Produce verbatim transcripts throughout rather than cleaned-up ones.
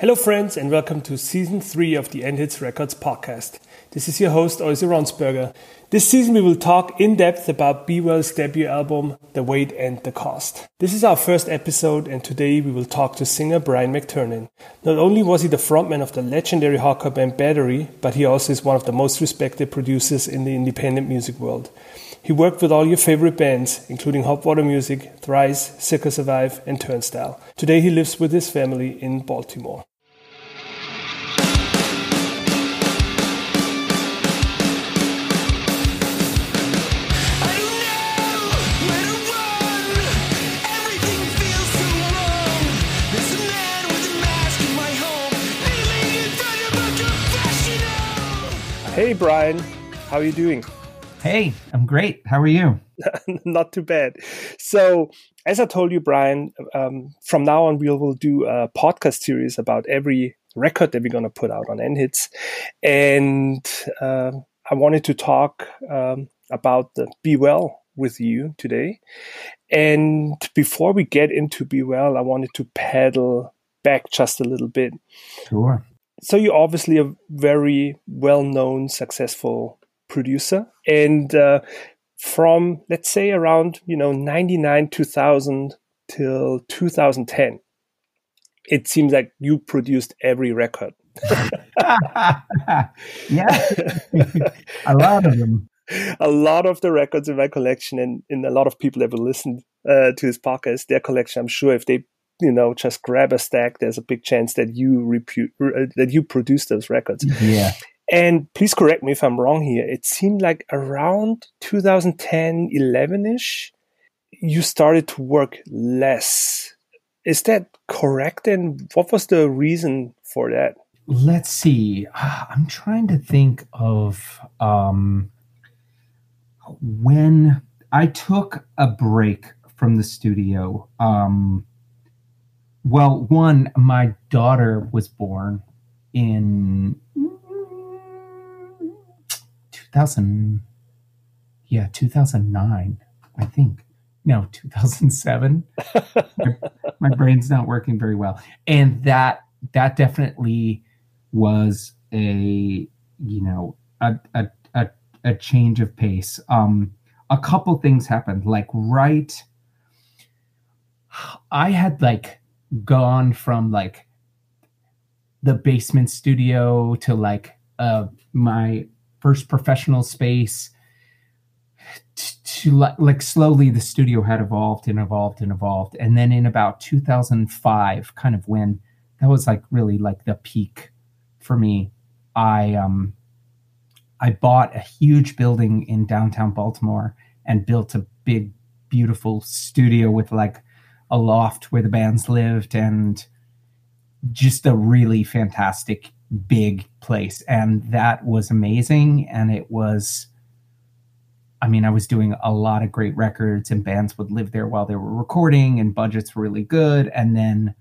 Hello friends and welcome to season three of the End Hits Records podcast. This is your host Oise Ronsberger. This season we will talk in depth about Be Well's debut album, The Weight and the Cost. This is our first episode and today we will talk to singer Brian McTernan. Not only was he the frontman of the legendary hardcore band Battery, but he also is one of the most respected producers in the independent music world. He worked with all your favorite bands, including Hot Water Music, Thrice, Circa Survive, and Turnstile. Today he lives with his family in Baltimore. Hey Brian, how are you doing? Hey, I'm great. How are you? Not too bad. So, as I told you, Brian, um, from now on we will do a podcast series about every record that we're going to put out on End Hits. And uh, I wanted to talk um, about the Be Well with you today. And before we get into Be Well, I wanted to paddle back just a little bit. Sure. So you're obviously a very well-known, successful producer. And uh, from, let's say, around, you know, ninety-nine, two thousand till two thousand ten, it seems like you produced every record. Yeah, a lot of them. A lot of the records in my collection, and, and a lot of people that will listen uh, to this podcast, their collection, I'm sure if they, you know, just grab a stack, there's a big chance that you repu- uh, that you produce those records. Yeah. And please correct me if I'm wrong here. It seemed like around two thousand ten, eleven-ish, you started to work less. Is that correct? And what was the reason for that? Let's see. I'm trying to think of um, when I took a break from the studio. Um, well, one, my daughter was born in two thousand, yeah, two thousand nine, I think. No, two thousand seven. my, my brain's not working very well. And that that definitely was a, you know, a a a, a change of pace. Um, a couple things happened. Like right, I had like gone from like the basement studio to like uh my first professional space to, to like, like slowly the studio had evolved and evolved and evolved. And then in about two thousand five, kind of when that was like really like the peak for me, I um I bought a huge building in downtown Baltimore and built a big, beautiful studio with like a loft where the bands lived and just a really fantastic big place. And that was amazing. And it was, I mean, I was doing a lot of great records and bands would live there while they were recording and budgets were really good. And then,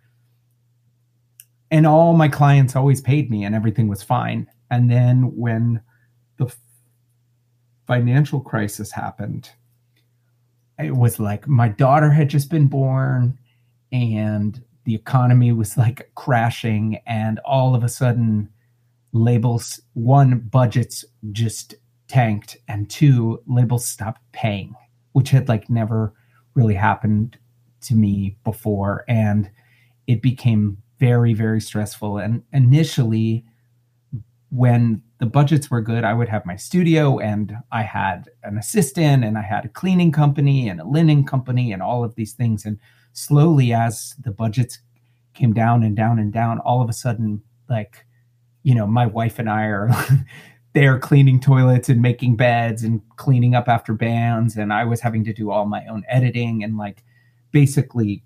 and all my clients always paid me and everything was fine. And then when the financial crisis happened, it was like my daughter had just been born and the economy was like crashing, and all of a sudden labels, one, budgets just tanked, and two, labels stopped paying, which had like never really happened to me before. And it became very, very stressful. And initially, when the budgets were good, I would have my studio and I had an assistant and I had a cleaning company and a linen company and all of these things. And slowly, as the budgets came down and down and down, all of a sudden, like, you know, my wife and I are there cleaning toilets and making beds and cleaning up after bands. And I was having to do all my own editing. And like, basically,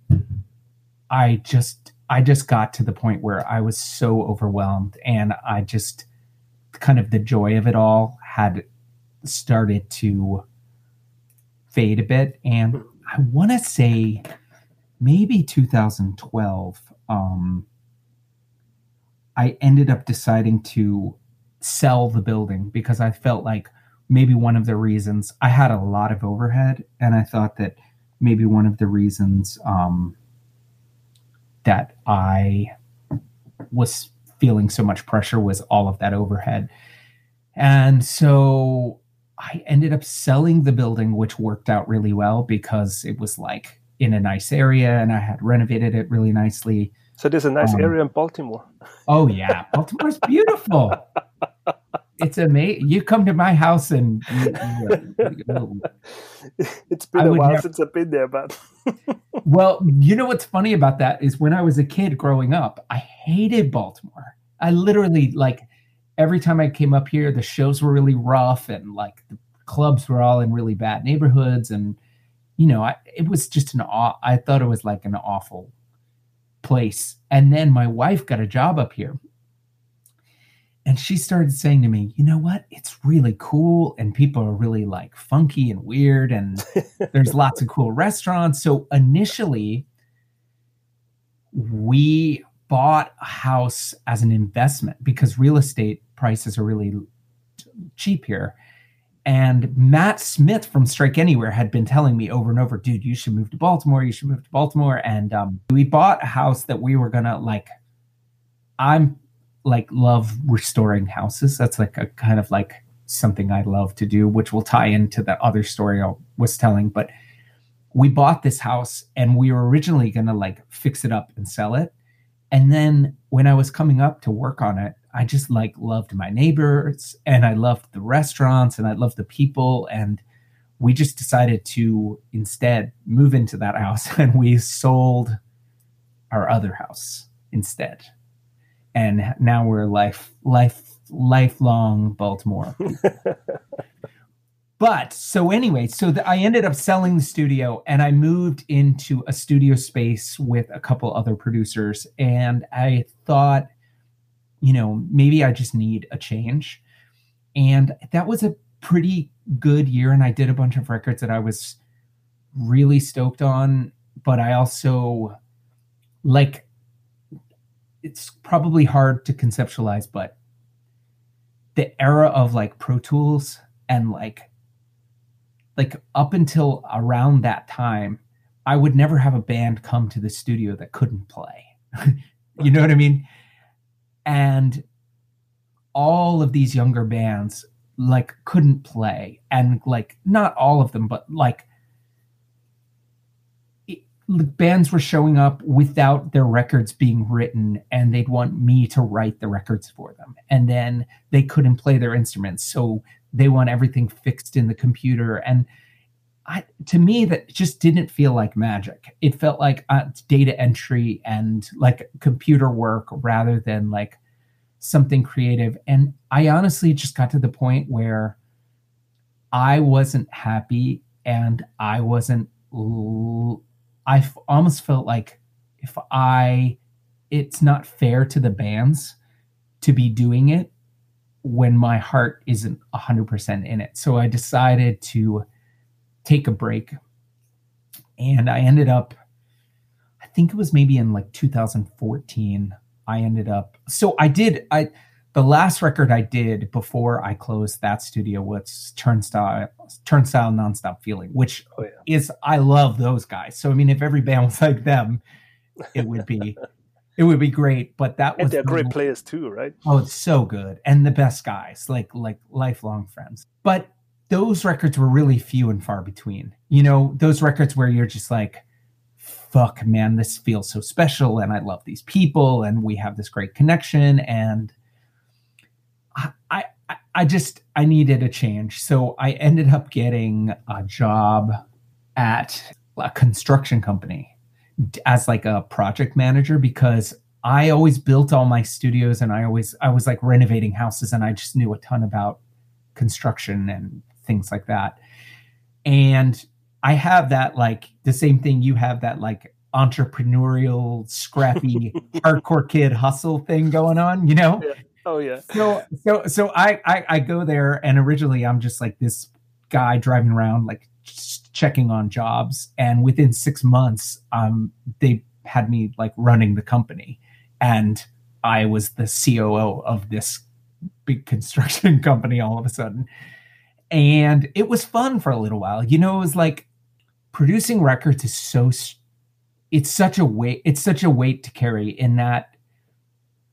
I just, I just got to the point where I was so overwhelmed, and I just kind of the joy of it all had started to fade a bit. And I want to say maybe two thousand twelve, um, I ended up deciding to sell the building because I felt like maybe one of the reasons I had a lot of overhead, and I thought that maybe one of the reasons um, that I was feeling so much pressure was all of that overhead. And so I ended up selling the building, which worked out really well because it was like in a nice area and I had renovated it really nicely. So there's a nice um, area in Baltimore. Oh yeah, Baltimore's beautiful. It's amazing. You come to my house and you, you, you, it's been I a while never... since I've been there, but well, you know what's funny about that is when I was a kid growing up, I hated Baltimore. I literally like every time I came up here, the shows were really rough and like the clubs were all in really bad neighborhoods, and you know, I, it was just an aw- I thought it was like an awful place. And then my wife got a job up here. And she started saying to me, you know what? It's really cool. And people are really like funky and weird. And there's lots of cool restaurants. So initially, we bought a house as an investment because real estate prices are really cheap here. And Matt Smith from Strike Anywhere had been telling me over and over, dude, you should move to Baltimore. You should move to Baltimore. And um, we bought a house that we were going to like, I'm like love restoring houses. That's like a kind of like something I love to do, which will tie into the other story I was telling. But we bought this house and we were originally going to like fix it up and sell it. And then when I was coming up to work on it, I just like loved my neighbors and I loved the restaurants and I loved the people. And we just decided to instead move into that house, and we sold our other house instead. And now we're life, life, lifelong Baltimore. But so anyway, so the, I ended up selling the studio and I moved into a studio space with a couple other producers. And I thought, you know, maybe I just need a change. And that was a pretty good year. And I did a bunch of records that I was really stoked on. But I also like, it's probably hard to conceptualize, but the era of like Pro Tools and like, like up until around that time, I would never have a band come to the studio that couldn't play. You know what I mean? And all of these younger bands like couldn't play, and like not all of them, but like it, bands were showing up without their records being written, and they'd want me to write the records for them. And then they couldn't play their instruments, so they want everything fixed in the computer. And I, to me, that just didn't feel like magic. It felt like uh, data entry and like computer work rather than like something creative. And I honestly just got to the point where I wasn't happy, and I wasn't, I almost felt like if I, it's not fair to the bands to be doing it when my heart isn't one hundred percent in it. So I decided to take a break, and I ended up, I think it was maybe in like two thousand fourteen, I ended up, so I did, I, the last record I did before I closed that studio was Turnstile, Turnstile Nonstop Feeling, which oh, yeah. is, I love those guys. So, I mean, if every band was like them, it would be, it would be great. But that was, and they're great players too, right? Oh, it's so good. And the best guys, like, like lifelong friends. But those records were really few and far between. You know, those records where you're just like, fuck, man, this feels so special. And I love these people and we have this great connection. And I, I, I just, I needed a change. So I ended up getting a job at a construction company as like a project manager, because I always built all my studios and I always, I was like renovating houses, and I just knew a ton about construction and things like that. And I have that, like the same thing you have, that like entrepreneurial, scrappy, hardcore kid hustle thing going on, you know? Yeah. Oh yeah. So, so, so I, I, I go there, and originally I'm just like this guy driving around, like just checking on jobs. And within six months, um, they had me like running the company, and I was the C O O of this big construction company all of a sudden. And it was fun for a little while. You know, it was like producing records is so, it's such a weight, it's such a weight to carry, in that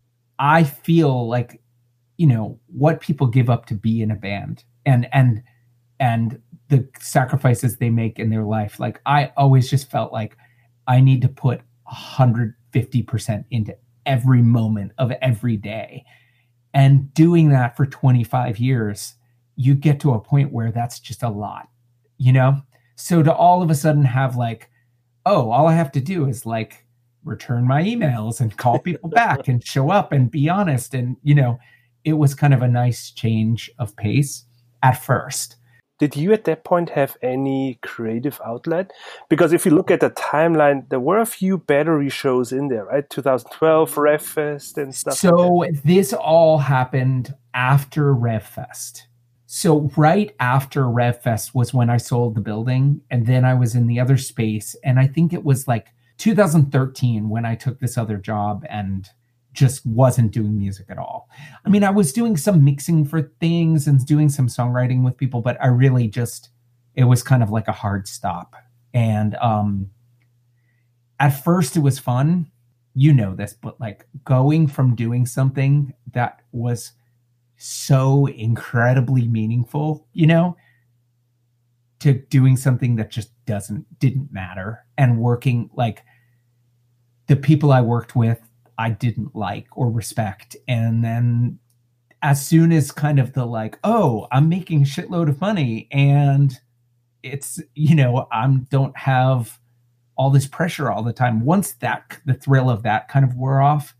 I feel like, you know, what people give up to be in a band and, and, and the sacrifices they make in their life. Like, I always just felt like I need to put one hundred fifty percent into every moment of every day. And doing that for twenty-five years, you get to a point where that's just a lot, you know? So to all of a sudden have like, oh, all I have to do is like return my emails and call people back and show up and be honest. And, you know, it was kind of a nice change of pace at first. Did you at that point have any creative outlet? Because if you look at the timeline, there were a few Battery shows in there, right? twenty twelve, RevFest and stuff. So like this all happened after RevFest. So right after RevFest was when I sold the building, and then I was in the other space. And I think it was like two thousand thirteen when I took this other job and just wasn't doing music at all. I mean, I was doing some mixing for things and doing some songwriting with people, but I really just, it was kind of like a hard stop. And um, at first it was fun, you know this, but like going from doing something that was so incredibly meaningful, you know, to doing something that just doesn't, didn't matter, and working like the people I worked with, I didn't like or respect. And then as soon as kind of the like, oh, I'm making a shitload of money and it's, you know, I'm don't have all this pressure all the time. Once that, the thrill of that kind of wore off,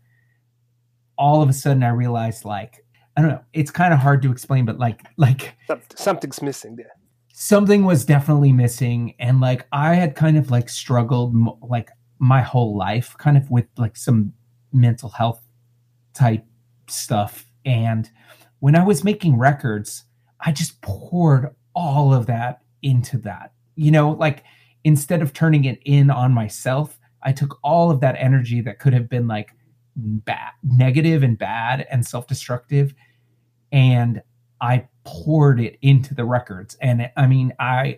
all of a sudden I realized like, I don't know, it's kind of hard to explain, but like, like something's missing there. Something was definitely missing. And like, I had kind of like struggled like my whole life kind of with like some mental health type stuff. And when I was making records, I just poured all of that into that, you know, like instead of turning it in on myself, I took all of that energy that could have been like bad, negative and bad and self-destructive, and I poured it into the records. And I mean, I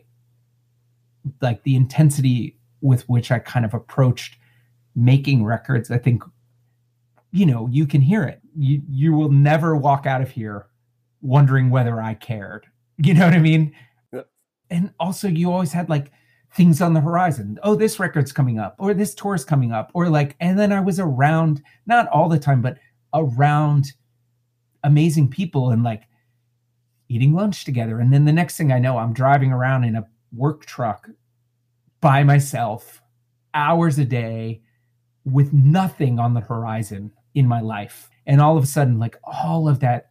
like the intensity with which I kind of approached making records, I think, you know, you can hear it. You you will never walk out of here wondering whether I cared. You know what I mean? Yeah. And also you always had like things on the horizon. Oh, this record's coming up, or this tour's coming up, or like, and then I was around, not all the time, but around amazing people and like eating lunch together. And then the next thing I know, I'm driving around in a work truck by myself, hours a day, with nothing on the horizon in my life. And all of a sudden, like all of that,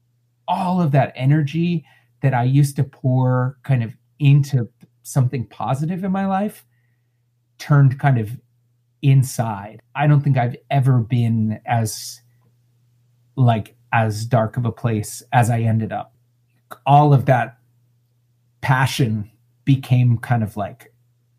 all of that energy that I used to pour kind of into something positive in my life turned kind of inside. I don't think I've ever been as like as dark of a place as I ended up. All of that passion became kind of like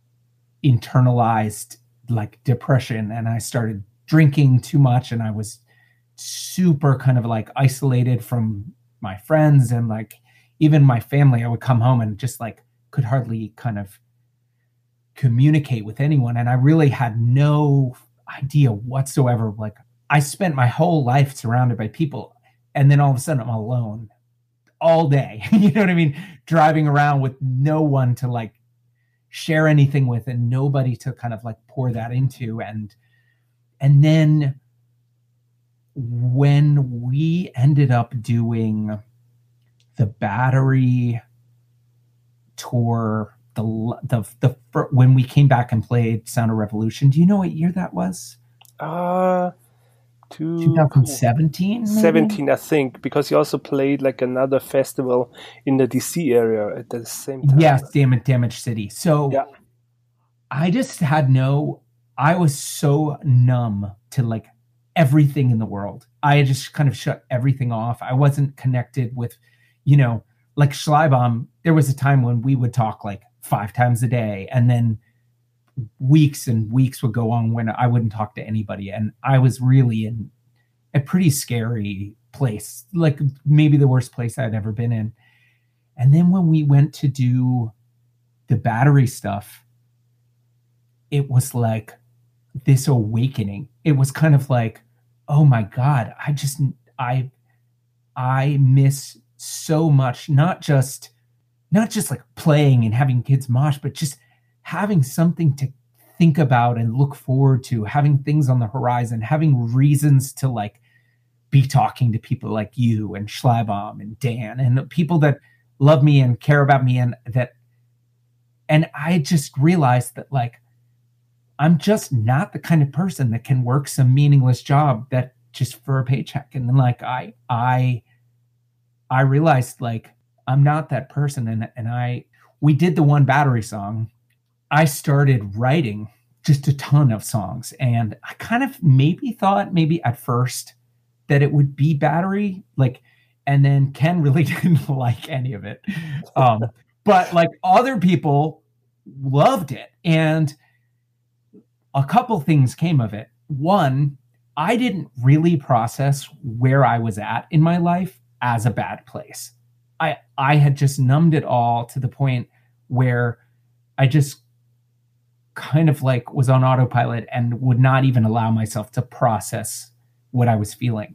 internalized like depression, and I started drinking too much, and I was super kind of like isolated from my friends and like even my family. I would come home and just like could hardly kind of communicate with anyone, and I really had no idea whatsoever. Like I spent my whole life surrounded by people, and then all of a sudden I'm alone all day. You know what I mean? Driving around with no one to like share anything with, and nobody to kind of like pour that into. And and then when we ended up doing the Battery tour, the the the when we came back and played Sound of Revolution, do you know what year that was? Uh twenty seventeen maybe? seventeen, I think, because you also played like another festival in the D C area at the same time. Yes, damn it, Damage City. So yeah. I just had no, I was so numb to like everything in the world. I just kind of shut everything off. I wasn't connected with, you know, like Schleibaum. There was a time when we would talk like five times a day, and then weeks and weeks would go on when I wouldn't talk to anybody. And I was really in a pretty scary place, like maybe the worst place I'd ever been in. And then when we went to do the Battery stuff, it was like this awakening. It was kind of like, oh my God, I just, I, I miss so much, not just, not just like playing and having kids mosh, but just having something to think about and look forward to, having things on the horizon, having reasons to like be talking to people like you and Schleibom and Dan and people that love me and care about me. And that, and I just realized that like, I'm just not the kind of person that can work some meaningless job that just for a paycheck. And then like, I, I, I realized like, I'm not that person. And, and I, we did the One Battery song. I started writing just a ton of songs. And I kind of maybe thought maybe at first that it would be Battery, like, and then Ken really didn't like any of it. Um, but like other people loved it. And a couple things came of it. One, I didn't really process where I was at in my life as a bad place. I, I had just numbed it all to the point where I just kind of like was on autopilot and would not even allow myself to process what I was feeling.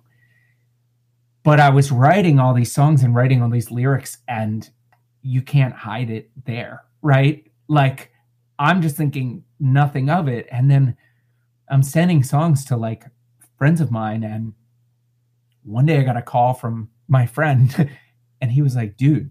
But I was writing all these songs and writing all these lyrics, and you can't hide it there, right? Like, I'm just thinking nothing of it. And then I'm sending songs to like friends of mine. And one day I got a call from my friend and he was like, dude,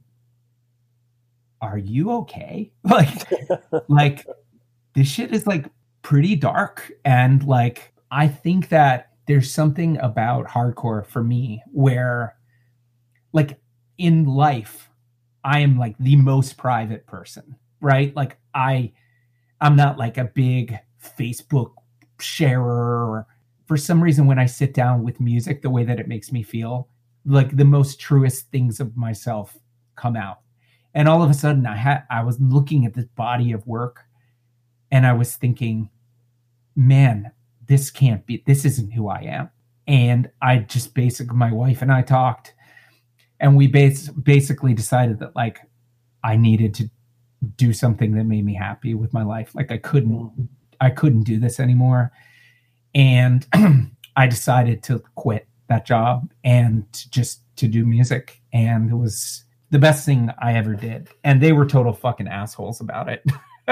are you okay? Like, like this shit is like pretty dark. And like, I think that there's something about hardcore for me where like in life, I am like the most private person, right? Like I, I'm not like a big Facebook sharer, or for some reason, when I sit down with music, the way that it makes me feel, like the most truest things of myself come out. And all of a sudden I had, I was looking at this body of work and I was thinking, man, this can't be, this isn't who I am. And I just basically, my wife and I talked and we bas- basically decided that like, I needed to do something that made me happy with my life. Like I couldn't, I couldn't do this anymore. And I decided to quit that job and to just to do music. And it was the best thing I ever did. And they were total fucking assholes about it.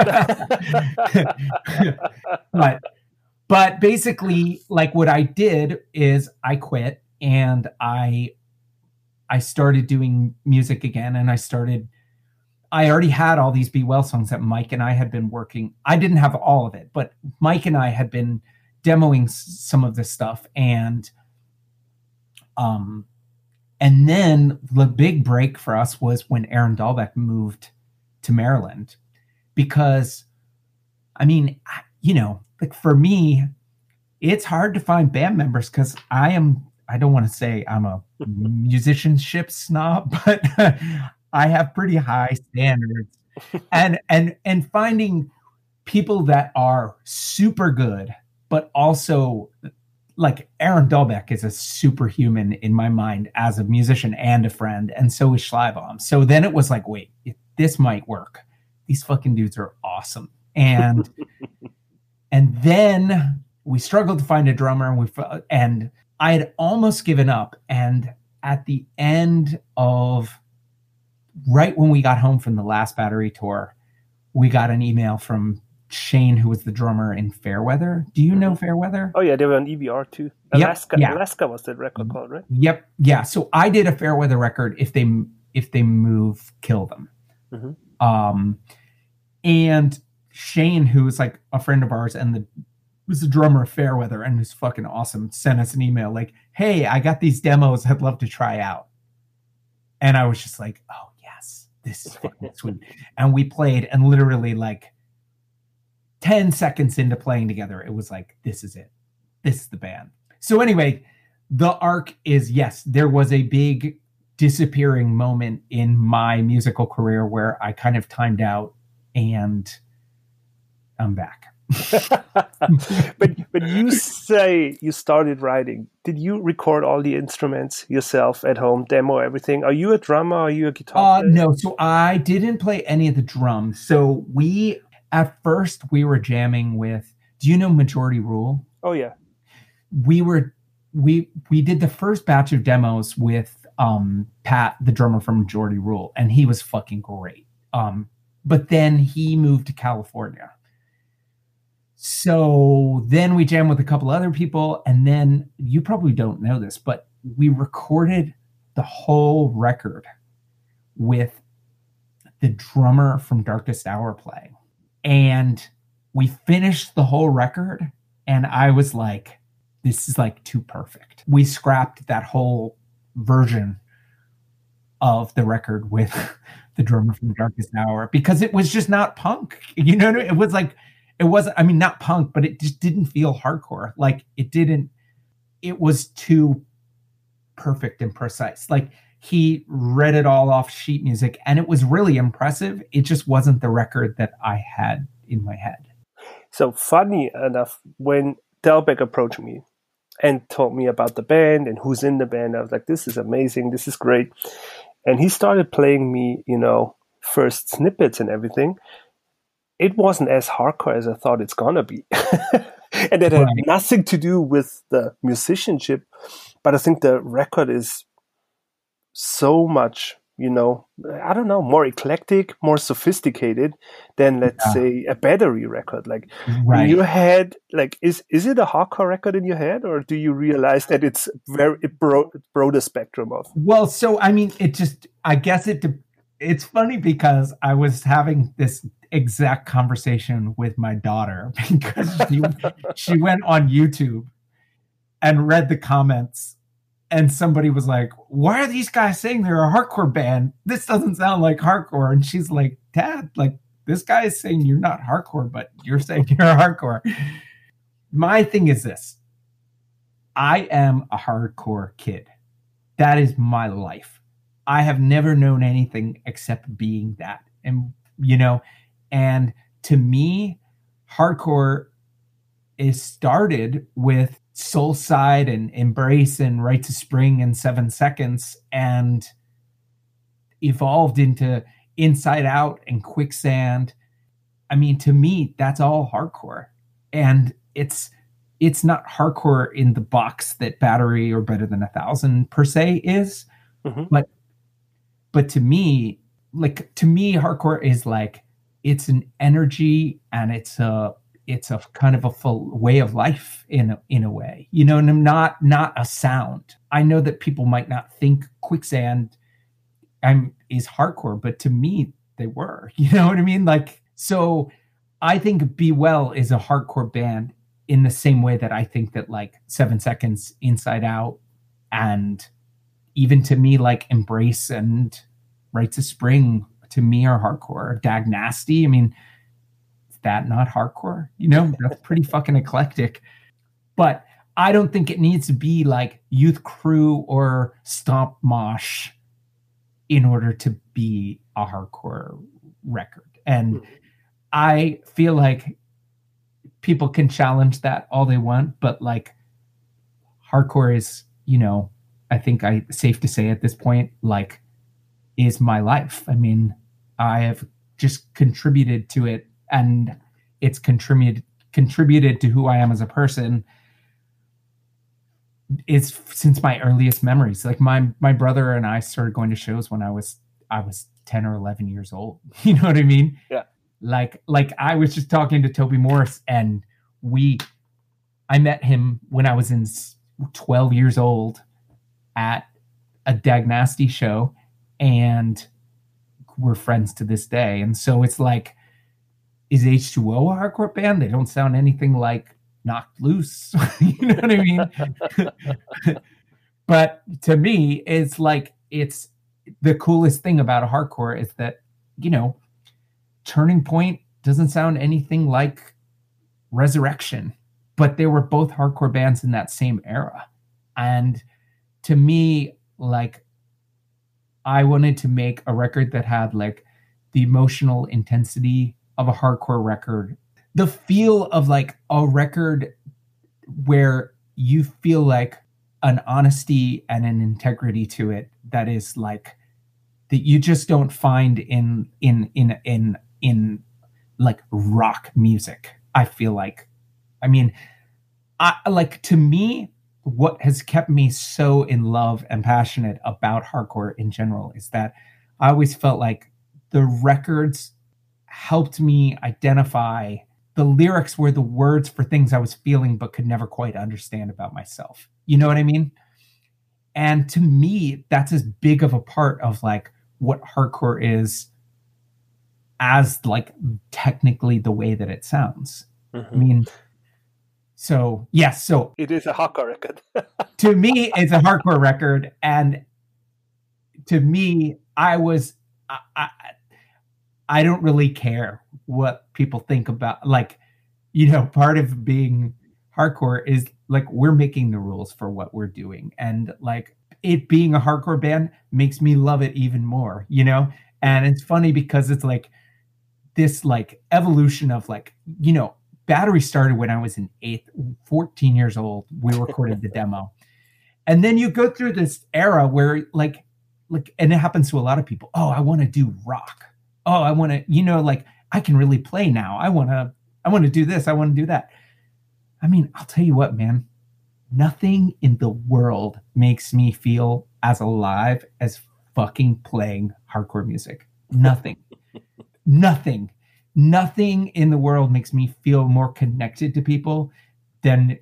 but, but basically like what I did is I quit and I, I started doing music again. And I started, I already had all these Be Well songs that Mike and I had been working. I didn't have all of it, but Mike and I had been demoing some of this stuff. And, um, and then the big break for us was when Aaron Dahlbeck moved to Maryland, because I mean, you know, like for me, it's hard to find band members because I am, I don't want to say I'm a musicianship snob, but I have pretty high standards. and, and, and finding people that are super good, but also like Aaron Dahlbeck is a superhuman in my mind as a musician and a friend. And so is Schleibom. So then it was like, wait, this might work. These fucking dudes are awesome. And, and then we struggled to find a drummer and we, and I had almost given up. And at the end of, right when we got home from the last Battery tour, we got an email from Shane, who was the drummer in Fairweather. Do you know Fairweather? Oh yeah, they were on E B R too. Alaska, yep, yeah. Alaska was that record called, right? Yep, yeah. So I did a Fairweather record. If they if they move, kill them. Mm-hmm. Um, and Shane, who was like a friend of ours and the was the drummer of Fairweather and who's fucking awesome, sent us an email like, "Hey, I got these demos. I'd love to try out." And I was just like, "Oh yes, this is fucking sweet." And we played, and literally like ten seconds into playing together, it was like, this is it. This is the band. So anyway, the arc is, yes, there was a big disappearing moment in my musical career where I kind of timed out and I'm back. but but you say you started writing. Did you record all the instruments yourself at home, demo everything? Are you a drummer? Are you a guitar player? Uh, no, so I didn't play any of the drums. So we... At first, we were jamming with, do you know Majority Rule? Oh, yeah. We were we we did the first batch of demos with um, Pat, the drummer from Majority Rule, and he was fucking great. Um, but then he moved to California. So then we jammed with a couple other people, and then you probably don't know this, but we recorded the whole record with the drummer from Darkest Hour playing. And we finished the whole record, and I was like, this is like too perfect. We scrapped that whole version of the record with the drummer from Darkest Hour because it was just not punk. You know, it was like, it wasn't, I mean, not punk, but it just didn't feel hardcore. Like it didn't, it was too perfect and precise. Like he read it all off sheet music and it was really impressive. It just wasn't the record that I had in my head. So funny enough, when Delbecq approached me and told me about the band and who's in the band, I was like, this is amazing. This is great. And he started playing me, you know, first snippets and everything. It wasn't as hardcore as I thought it's going to be. And it had right. nothing to do with the musicianship. But I think the record is so much, you know, I don't know, more eclectic, more sophisticated than, let's yeah. say, a Battery record. Like right. in your head, like, is is it a hardcore record in your head, or do you realize that it's very it broad, broader spectrum of? Well, so I mean, it just, I guess it. It's funny because I was having this exact conversation with my daughter because she she went on YouTube and read the comments. And somebody was like, why are these guys saying they're a hardcore band? This doesn't sound like hardcore. And she's like, Dad, like this guy is saying you're not hardcore, but you're saying you're hardcore. My thing is this. I am a hardcore kid. That is my life. I have never known anything except being that. And, you know, and to me, hardcore is started with Soulside and Embrace and Right to Spring and Seven Seconds and evolved into Inside Out and Quicksand. I mean, to me, that's all hardcore. And it's it's not hardcore in the box that Battery or Better Than a Thousand per se is. Mm-hmm. But but to me, like to me, hardcore is like it's an energy and it's a it's a kind of a full way of life in a, in a way, you know, and not, not a sound. I know that people might not think Quicksand I'm, is hardcore, but to me they were, you know what I mean? Like, so I think Be Well is a hardcore band in the same way that I think that like Seven Seconds, Inside Out, and even to me, like Embrace and Right to Spring to me are hardcore. Dag Nasty. I mean, that not hardcore, you know, that's pretty fucking eclectic. But I don't think it needs to be like Youth Crew or Stomp Mosh in order to be a hardcore record. And I feel like people can challenge that all they want, but like hardcore is, you know, I think I safe to say at this point, like is my life. I mean, I have just contributed to it. And it's contributed contributed to who I am as a person. It's since my earliest memories. Like my my brother and I started going to shows when I was I was ten or eleven years old. You know what I mean? Yeah. Like like I was just talking to Toby Morris, and we I met him when I was in twelve years old at a Dag Nasty show, and we're friends to this day. And so it's like, is H two O a hardcore band? They don't sound anything like Knocked Loose. You know what I mean? But to me, it's like, it's the coolest thing about a hardcore is that, you know, Turning Point doesn't sound anything like Resurrection, but they were both hardcore bands in that same era. And to me, like, I wanted to make a record that had like the emotional intensity of a hardcore record, the feel of like a record where you feel like an honesty and an integrity to it that is like that you just don't find in in in in in like rock music. I feel like, I mean, I like to me, what has kept me so in love and passionate about hardcore in general is that I always felt like the records helped me identify the lyrics were the words for things I was feeling but could never quite understand about myself. You know what I mean? And to me, that's as big of a part of like what hardcore is as like technically the way that it sounds. Mm-hmm. I mean, so yes, so it is a hardcore record. To me, it's a hardcore record. And to me, I was, I, I, I don't really care what people think about, like, you know, part of being hardcore is like, we're making the rules for what we're doing. And like it being a hardcore band makes me love it even more, you know? And it's funny because it's like this like evolution of like, you know, Battery started when I was in eighth, fourteen years old. We recorded the demo. And then you go through this era where like, like, and it happens to a lot of people. Oh, I want to do rock. Oh, I want to, you know, like I can really play now. I want to, I want to do this. I want to do that. I mean, I'll tell you what, man, nothing in the world makes me feel as alive as fucking playing hardcore music. Nothing, nothing, nothing in the world makes me feel more connected to people than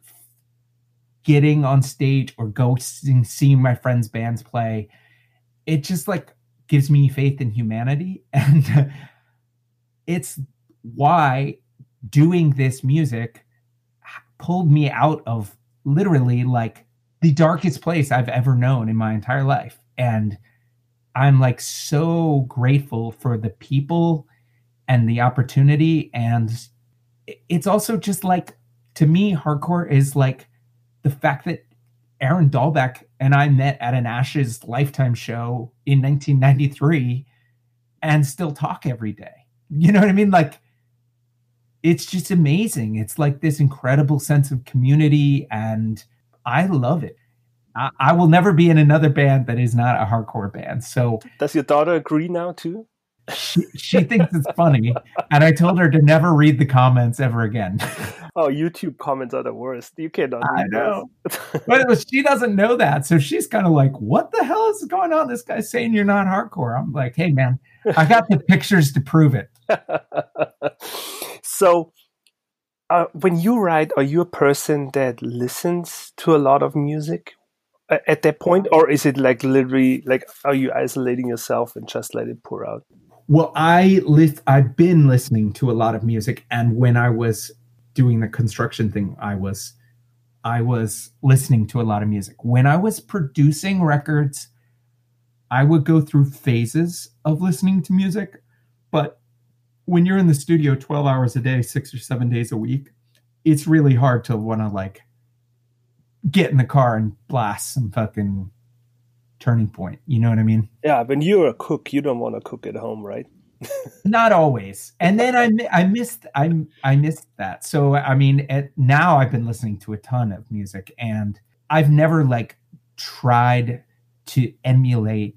getting on stage or go seeing, seeing my friends' bands play. It just like gives me faith in humanity. And it's why doing this music pulled me out of literally like the darkest place I've ever known in my entire life. And I'm like so grateful for the people and the opportunity. And it's also just like, to me, hardcore is like the fact that Aaron Dahlbeck and I met at an Ashes Lifetime show in nineteen ninety-three and still talk every day. You know what I mean? Like, it's just amazing. It's like this incredible sense of community, and I love it. I, I will never be in another band that is not a hardcore band. So does your daughter agree now too? She, she thinks it's funny, and I told her to never read the comments ever again. Oh, YouTube comments are the worst. You cannot. I know, but it was, she doesn't know that, so she's kind of like, "What the hell is going on? This guy's saying you're not hardcore." I'm like, "Hey, man, I got the pictures to prove it." So, uh, when you write, are you a person that listens to a lot of music at that point, or is it like literally like, are you isolating yourself and just let it pour out? Well, I list, I've been listening to a lot of music, and when I was doing the construction thing, I was, I was listening to a lot of music. When I was producing records, I would go through phases of listening to music, but when you're in the studio twelve hours a day, six or seven days a week, it's really hard to want to like get in the car and blast some fucking Turning Point. You know what I mean? Yeah, when you're a cook, you don't want to cook at home, right? Not always. And then I I missed I I missed that. So I mean, at, now I've been listening to a ton of music, and I've never like tried to emulate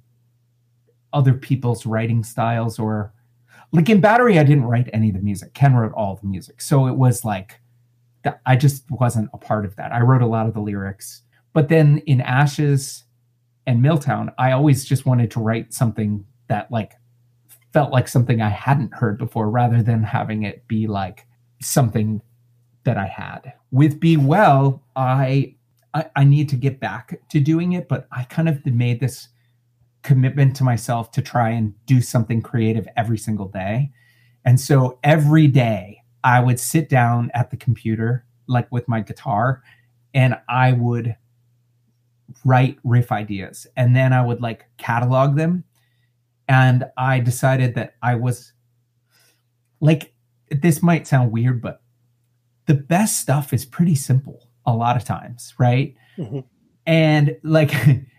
other people's writing styles, or like in Battery, I didn't write any of the music. Ken wrote all the music, so it was like I just wasn't a part of that. I wrote a lot of the lyrics, but then in Ashes and Milltown, I always just wanted to write something that like felt like something I hadn't heard before, rather than having it be like something that I had. With Be Well, I, I I need to get back to doing it, but I kind of made this commitment to myself to try and do something creative every single day. And so every day I would sit down at the computer, like with my guitar, and I would write riff ideas, and then I would like catalog them. And I decided that I was like, this might sound weird, but the best stuff is pretty simple a lot of times, right? Mm-hmm. And like,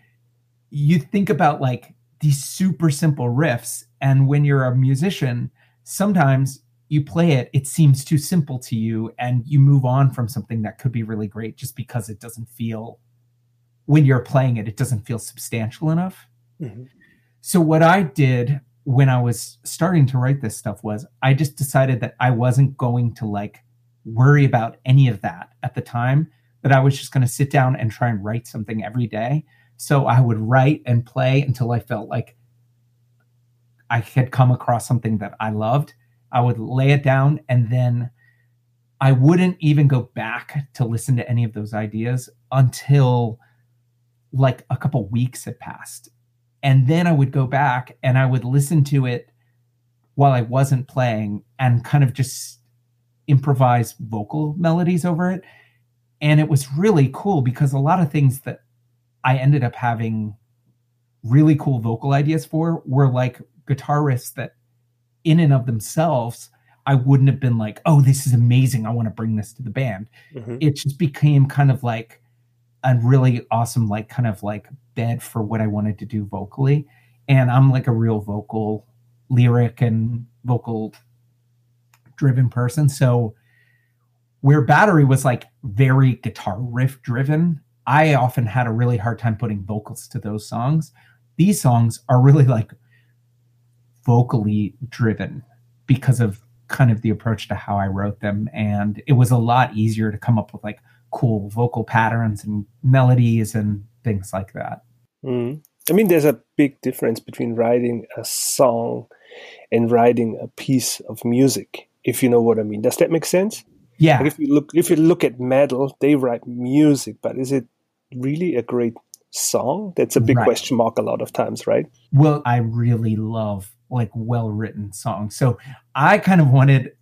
you think about like these super simple riffs, and when you're a musician, sometimes you play it, it seems too simple to you, and you move on from something that could be really great just because it doesn't feel, when you're playing it, it doesn't feel substantial enough. Mm-hmm. So what I did when I was starting to write this stuff was I just decided that I wasn't going to like worry about any of that at the time, that I was just going to sit down and try and write something every day. So I would write and play until I felt like I had come across something that I loved. I would lay it down, and then I wouldn't even go back to listen to any of those ideas until like a couple weeks had passed. And then I would go back and I would listen to it while I wasn't playing and kind of just improvise vocal melodies over it. And it was really cool because a lot of things that I ended up having really cool vocal ideas for were like guitar riffs that in and of themselves, I wouldn't have been like, oh, this is amazing. I want to bring this to the band. Mm-hmm. It just became kind of like a really awesome, like kind of like bed for what I wanted to do vocally. And I'm like a real vocal, lyric and vocal driven person. So where Battery was like very guitar riff driven, I often had a really hard time putting vocals to those songs. These songs are really like vocally driven because of kind of the approach to how I wrote them. And it was a lot easier to come up with like cool vocal patterns and melodies and things like that. Mm. I mean, there's a big difference between writing a song and writing a piece of music, if you know what I mean. Does that make sense? Yeah. Like if you look, if you look at metal, they write music, but is it really a great song? That's a big right. question mark a lot of times, right? Well, I really love like well-written songs. So I kind of wanted,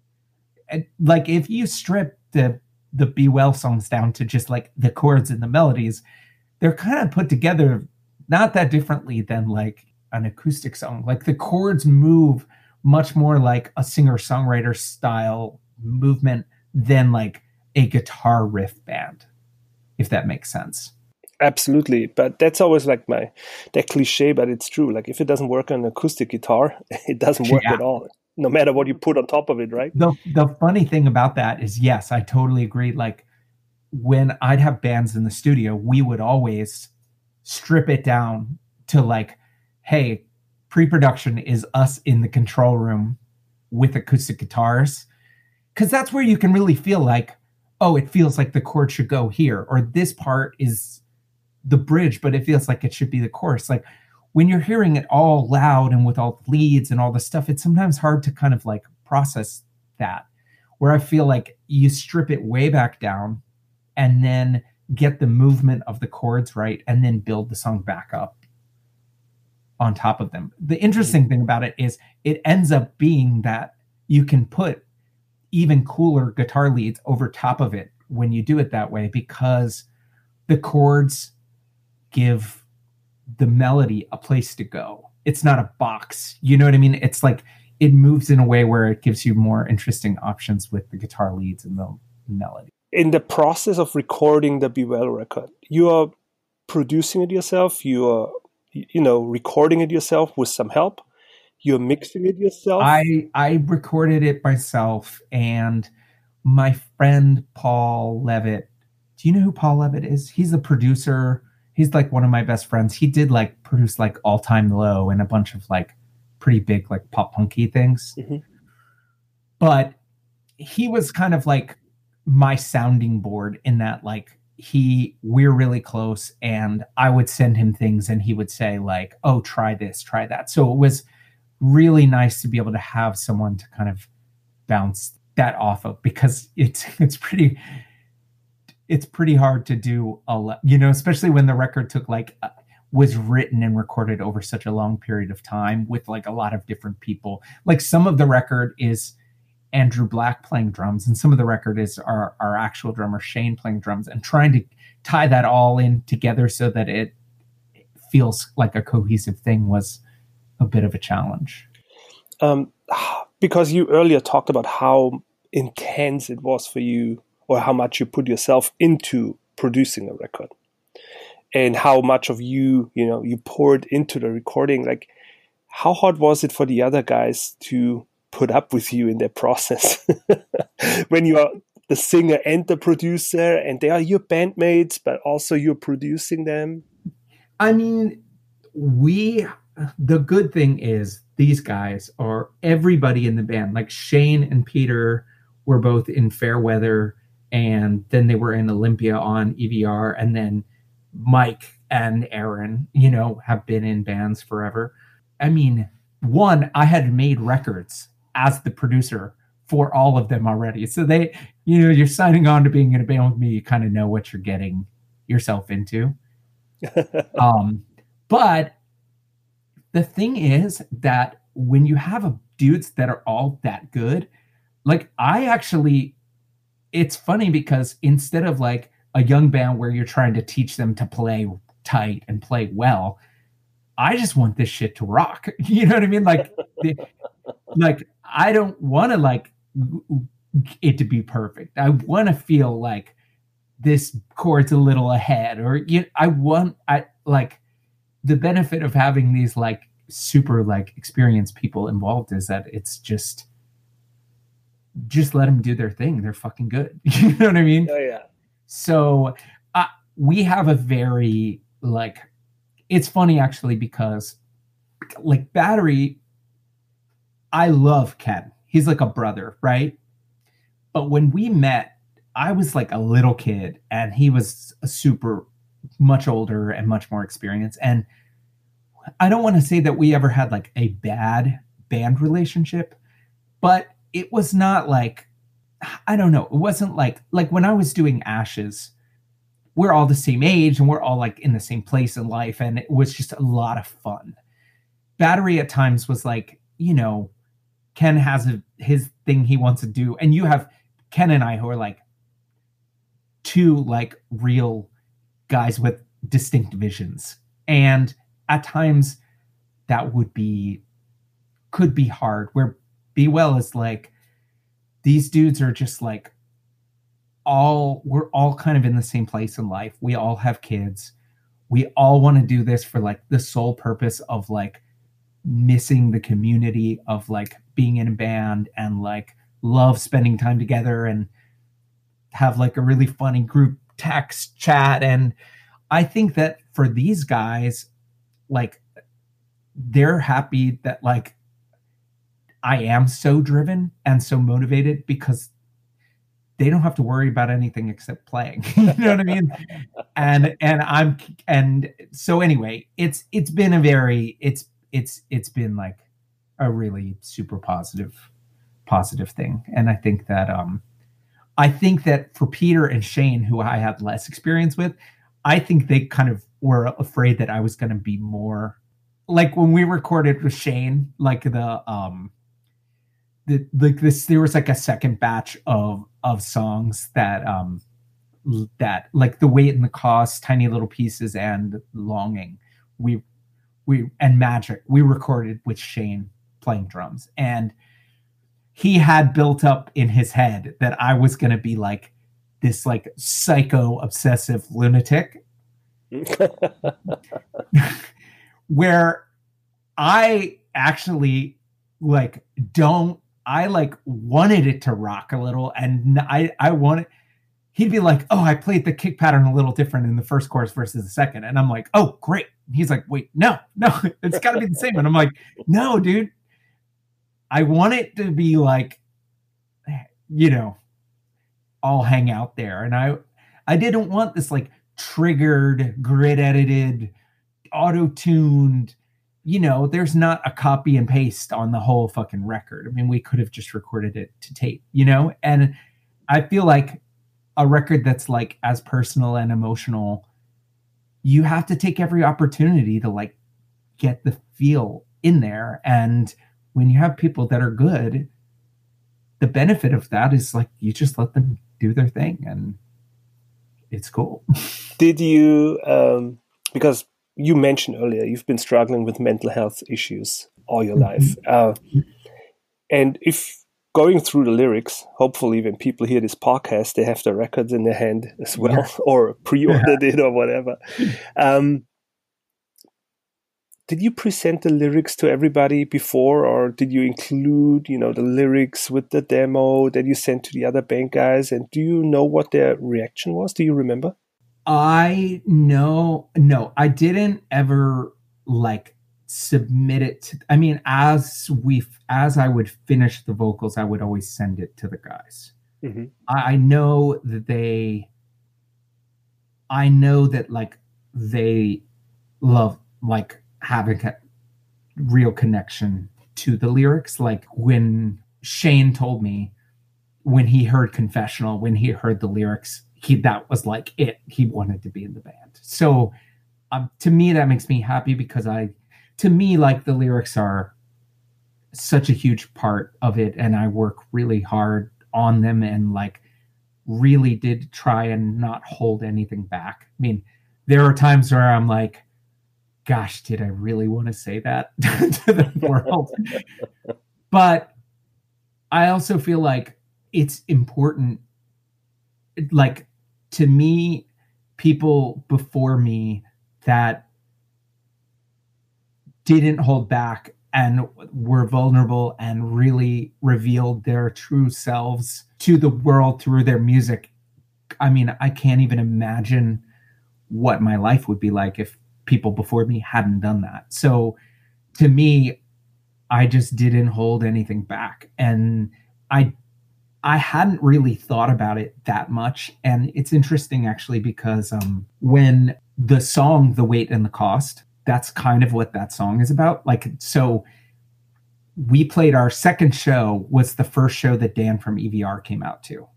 like, if you strip the the Be Well songs down to just like the chords and the melodies, they're kind of put together not that differently than like an acoustic song. Like the chords move much more like a singer-songwriter style movement than like a guitar riff band, if that makes sense. Absolutely. But that's always like my, that cliche, but it's true. Like if it doesn't work on an acoustic guitar, it doesn't work yeah. at all, no matter what you put on top of it, right? The the funny thing about that is, yes, I totally agree. Like when I'd have bands in the studio, we would always strip it down to like, hey, pre-production is us in the control room with acoustic guitars. Because that's where you can really feel like, oh, it feels like the chord should go here, or this part is the bridge, but it feels like it should be the chorus. Like when you're hearing it all loud and with all the leads and all the stuff, it's sometimes hard to kind of like process that, where I feel like you strip it way back down and then get the movement of the chords right and then build the song back up on top of them. The interesting thing about it is it ends up being that you can put even cooler guitar leads over top of it when you do it that way, because the chords give the melody a place to go. It's not a box. You know what I mean? It's like it moves in a way where it gives you more interesting options with the guitar leads and the melody. In the process of recording the Be Well record, you are producing it yourself. You are, you know, recording it yourself with some help. You're mixing it yourself. I I recorded it myself, and my friend Paul Levitt. Do you know who Paul Levitt is? He's the producer. He's like one of my best friends. He did like produce like All Time Low and a bunch of like pretty big like pop punky things. Mm-hmm. But he was kind of like my sounding board in that like he we're really close, and I would send him things and he would say like, oh, try this, try that. So it was really nice to be able to have someone to kind of bounce that off of, because it's it's pretty it's pretty hard to do a lot, you know, especially when the record took like uh, was written and recorded over such a long period of time with like a lot of different people. Like some of the record is Andrew Black playing drums, and some of the record is our, our actual drummer Shane playing drums, and trying to tie that all in together so that it feels like a cohesive thing was a bit of a challenge. Um, because you earlier talked about how intense it was for you, or how much you put yourself into producing a record, and how much of you, you know, you poured into the recording. Like, how hard was it for the other guys to put up with you in their process when you are the singer and the producer, and they are your bandmates, but also you're producing them? I mean, we, the good thing is these guys are everybody in the band. Like Shane and Peter were both in Fairweather, and then they were in Olympia on E V R, and then Mike and Aaron, you know, have been in bands forever. I mean, one, I had made records as the producer for all of them already. So they, you know, you're signing on to being in a band with me, you kind of know what you're getting yourself into. um, but the thing is that when you have a dudes that are all that good, like I actually, it's funny because instead of like a young band where you're trying to teach them to play tight and play well, I just want this shit to rock. You know what I mean? Like, the, like I don't want to like it to be perfect. I want to feel like this chord's a little ahead, or you know, I want, I like the benefit of having these like super like experienced people involved is that it's just, just let them do their thing. They're fucking good. You know what I mean? Oh yeah. So uh, we have a very like, it's funny actually because like Battery, I love Ken. He's like a brother, right? But when we met, I was like a little kid and he was a super much older and much more experienced. And I don't want to say that we ever had like a bad band relationship, but it was not like, I don't know. It wasn't like, like when I was doing Ashes, we're all the same age and we're all like in the same place in life. And it was just a lot of fun. Battery at times was like, you know, Ken has a, his thing he wants to do. And you have Ken and I who are like two like real guys with distinct visions. And at times that would be, could be hard, where Be Well is like, these dudes are just like all, we're all kind of in the same place in life. We all have kids. We all want to do this for like the sole purpose of like missing the community of like being in a band and like love spending time together and have like a really funny group text chat. And I think that for these guys, like they're happy that like I am so driven and so motivated because they don't have to worry about anything except playing. You know what I mean? And, and I'm, and so anyway, it's, it's been a very, it's, it's, it's been like a really super positive, positive thing. And I think that, um, I think that for Peter and Shane, who I had less experience with, I think they kind of were afraid that I was going to be more like when we recorded with Shane, like the, um, the, like this, there was like a second batch of, of songs that, um, that like The Weight and the Cost, Tiny Little Pieces, and Longing. We, we, and Magic, we recorded with Shane playing drums. And he had built up in his head that I was going to be like this, like psycho obsessive lunatic where I actually like, don't, I like wanted it to rock a little. And I, I wanted, he'd be like, oh, I played the kick pattern a little different in the first chorus versus the second. And I'm like, oh, great. He's like, wait, no, no, it's gotta be the same. And I'm like, no, dude, I want it to be like, you know, all hang out there. And I, I didn't want this like triggered, grid edited, auto-tuned, you know, there's not a copy and paste on the whole fucking record. I mean, we could have just recorded it to tape, you know? And I feel like a record that's like as personal and emotional, you have to take every opportunity to like get the feel in there. And when you have people that are good, the benefit of that is like, you just let them do their thing and it's cool. Did you, um, because you mentioned earlier, you've been struggling with mental health issues all your life. Uh, and if going through the lyrics, hopefully when people hear this podcast, they have the records in their hand as well, yeah. or pre-ordered yeah. it or whatever. Um, did you present the lyrics to everybody before, or did you include, you know, the lyrics with the demo that you sent to the other band guys? And do you know what their reaction was? Do you remember? I know, no, I didn't ever like submit it to, I mean, as we, as I would finish the vocals, I would always send it to the guys. Mm-hmm. I, I know that they, I know that like they love like having a real connection to the lyrics. Like when Shane told me when he heard Confessional, when he heard the lyrics, he that was like it. He wanted to be in the band. So um, to me, that makes me happy because I, to me, like the lyrics are such a huge part of it, and I work really hard on them and like really did try and not hold anything back. I mean, there are times where I'm like, gosh, did I really want to say that to the world? But I also feel like it's important. Like to me, people before me that didn't hold back and were vulnerable and really revealed their true selves to the world through their music. I mean, I can't even imagine what my life would be like if people before me hadn't done that. So to me, I just didn't hold anything back. And I I hadn't really thought about it that much. And it's interesting actually because um, when the song The Weight and the Cost, that's kind of what that song is about. Like, so we played our second show was the first show that Dan from E V R came out to.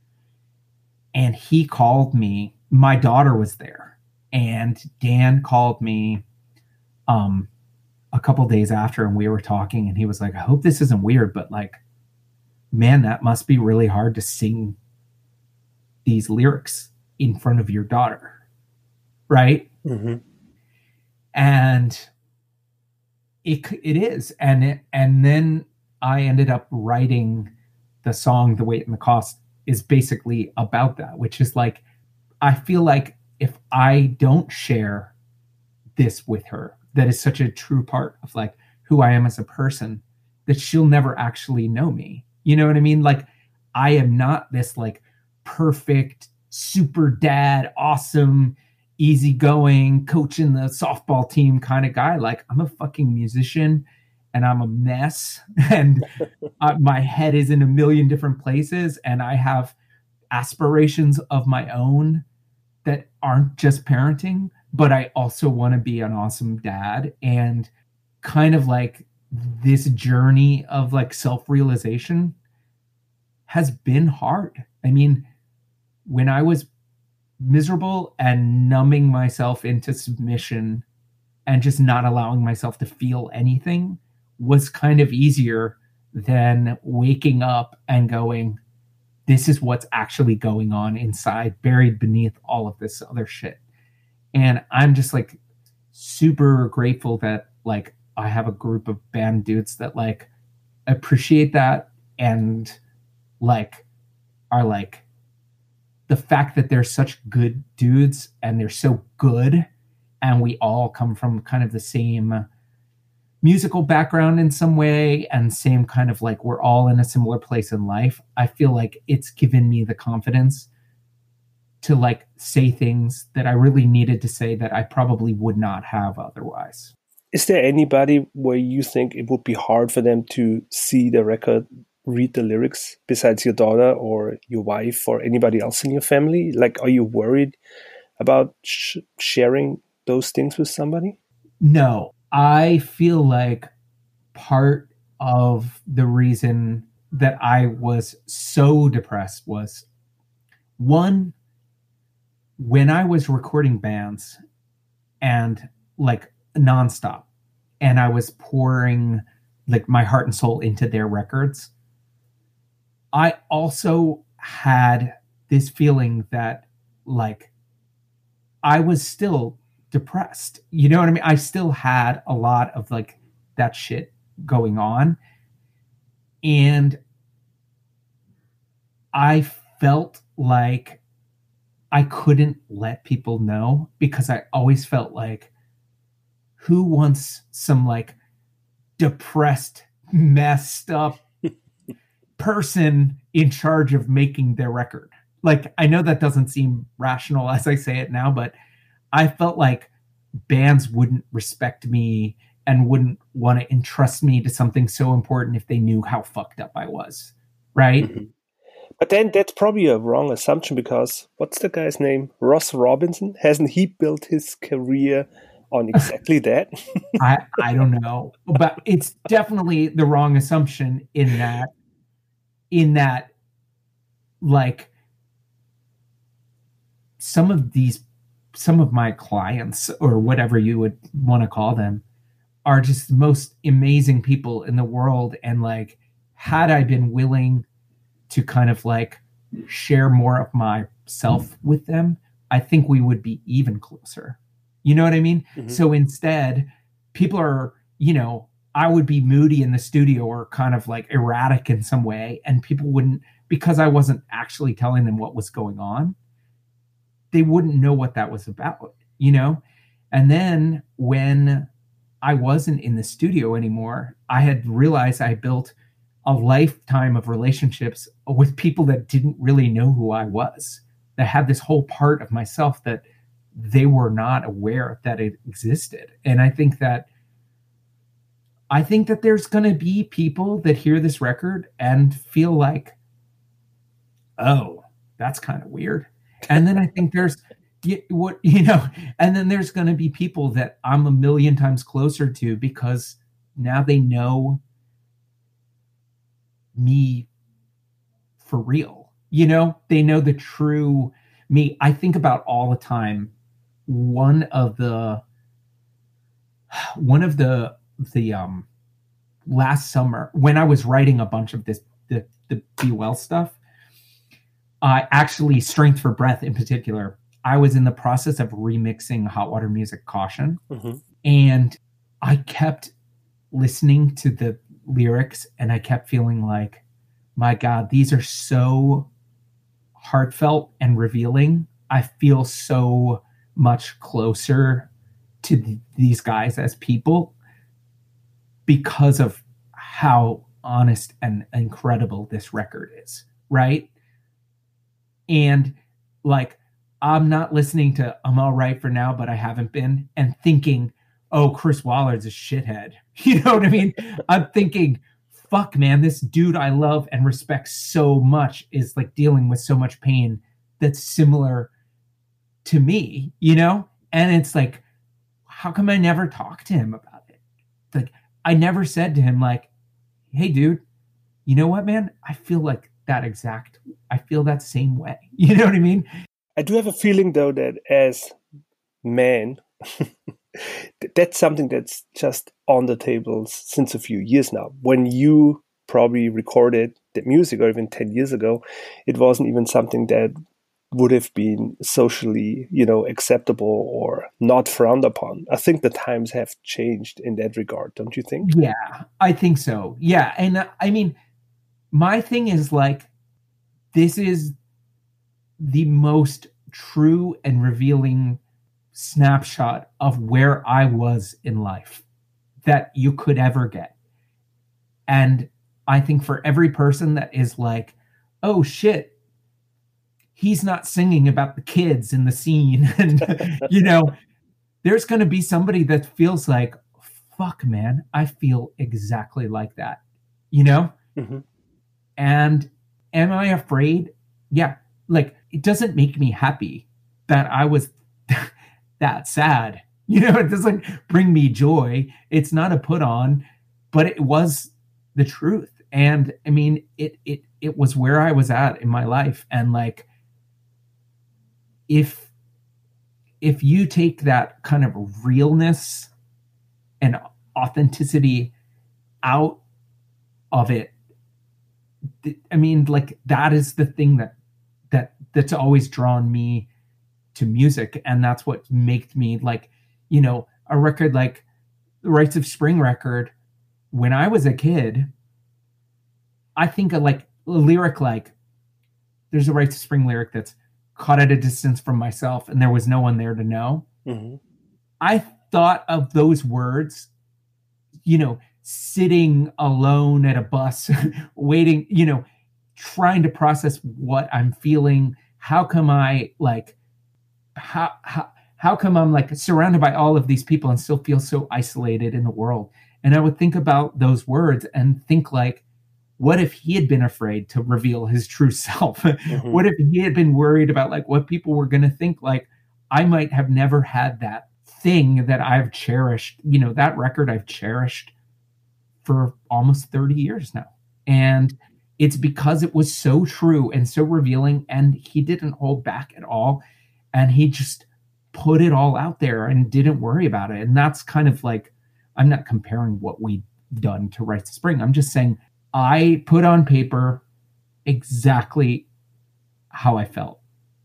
And he called me, my daughter was there, and Dan called me um, a couple days after and we were talking and he was like, I hope this isn't weird, but like, man, that must be really hard to sing these lyrics in front of your daughter. Right. Mm-hmm. And it, it is. And, it, and then I ended up writing the song, The Weight and the Cost is basically about that, which is like, I feel like if I don't share this with her, that is such a true part of like who I am as a person, that she'll never actually know me. You know what I mean? Like, I am not this like perfect, super dad, awesome, easygoing, coaching the softball team kind of guy. Like, I'm a fucking musician and I'm a mess and uh, my head is in a million different places and I have aspirations of my own that aren't just parenting, but I also want to be an awesome dad. And kind of like this journey of like self-realization has been hard. I mean, when I was miserable and numbing myself into submission and just not allowing myself to feel anything was kind of easier than waking up and going, this is what's actually going on inside, buried beneath all of this other shit. And I'm just like super grateful that like I have a group of band dudes that like appreciate that and like are like the fact that they're such good dudes and they're so good and we all come from kind of the same musical background in some way and same kind of like we're all in a similar place in life. I feel like it's given me the confidence to like say things that I really needed to say that I probably would not have otherwise. Is there anybody where you think it would be hard for them to see the record, read the lyrics, besides your daughter or your wife or anybody else in your family? Like, are you worried about sh- sharing those things with somebody? No, I feel like part of the reason that I was so depressed was, one, when I was recording bands and like nonstop, and I was pouring like my heart and soul into their records, I also had this feeling that like I was still depressed. You know what I mean? I still had a lot of like that shit going on. And I felt like I couldn't let people know because I always felt like, who wants some like depressed, messed up person in charge of making their record? Like, I know that doesn't seem rational as I say it now, but I felt like bands wouldn't respect me and wouldn't want to entrust me to something so important if they knew how fucked up I was. Right. Mm-hmm. But then that's probably a wrong assumption because what's the guy's name? Ross Robinson? Hasn't he built his career on exactly that? I, I don't know, but it's definitely the wrong assumption in that, in that, like, some of these, some of my clients or whatever you would want to call them are just the most amazing people in the world. And like, had I been willing to kind of like share more of myself with them, I think we would be even closer. You know what I mean? Mm-hmm. So instead, people are, you know, I would be moody in the studio or kind of like erratic in some way. And people wouldn't, because I wasn't actually telling them what was going on, they wouldn't know what that was about, you know? And then when I wasn't in the studio anymore, I had realized I built a lifetime of relationships with people that didn't really know who I was, that had this whole part of myself that they were not aware that it existed. And I think that I think that there's going to be people that hear this record and feel like, oh, that's kind of weird. And then I think there's what, you know, and then there's going to be people that I'm a million times closer to because now they know me for real. You know, they know the true me. I think about all the time. One of the, one of the, the, um, last summer when I was writing a bunch of this, the, the Be Well stuff, I uh, actually Strength for Breath in particular, I was in the process of remixing Hot Water Music Caution. Mm-hmm. And I kept listening to the lyrics and I kept feeling like, my God, these are so heartfelt and revealing. I feel so much closer to th- these guys as people because of how honest and incredible this record is, right? And like, I'm not listening to I'm All Right for Now, but I haven't been, and thinking, oh, Chris Wallard's a shithead. You know what I mean? I'm thinking, fuck, man, this dude I love and respect so much is like dealing with so much pain that's similar to me, you know? And it's like, how come I never talked to him about it? Like, I never said to him, like, hey, dude, you know what, man? I feel like that exact, I feel that same way. You know what I mean? I do have a feeling, though, that as men, that's something that's just on the table since a few years now. When you probably recorded that music, or even ten years ago, it wasn't even something that would have been socially, you know, acceptable or not frowned upon. I think the times have changed in that regard, don't you think? Yeah, I think so. Yeah, and uh, I mean, my thing is like, this is the most true and revealing snapshot of where I was in life that you could ever get. And I think for every person that is like, oh shit, he's not singing about the kids in the scene. And, you know, there's going to be somebody that feels like, fuck, man, I feel exactly like that, you know? Mm-hmm. And am I afraid? Yeah. Like, it doesn't make me happy that I was that sad. You know, it doesn't bring me joy. It's not a put on, but it was the truth. And I mean, it, it, it was where I was at in my life. And like, if, if you take that kind of realness and authenticity out of it, I mean, like, that is the thing that, that that's always drawn me to music. And that's what made me like, you know, a record like the Rites of Spring record. When I was a kid, I think of like a lyric, like there's a Rites of Spring lyric that's caught at a distance from myself and there was no one there to know. Mm-hmm. I thought of those words, you know, sitting alone at a bus, waiting, you know, trying to process what I'm feeling. How come I like, how, how, how come I'm like surrounded by all of these people and still feel so isolated in the world? And I would think about those words and think like, what if he had been afraid to reveal his true self? Mm-hmm. What if he had been worried about like what people were going to think? Like, I might have never had that thing that I've cherished, you know, that record I've cherished for almost thirty years now. And it's because it was so true and so revealing, and he didn't hold back at all. And he just put it all out there and didn't worry about it. And that's kind of like, I'm not comparing what we've done to Rites of Spring. I'm just saying I put on paper exactly how I felt.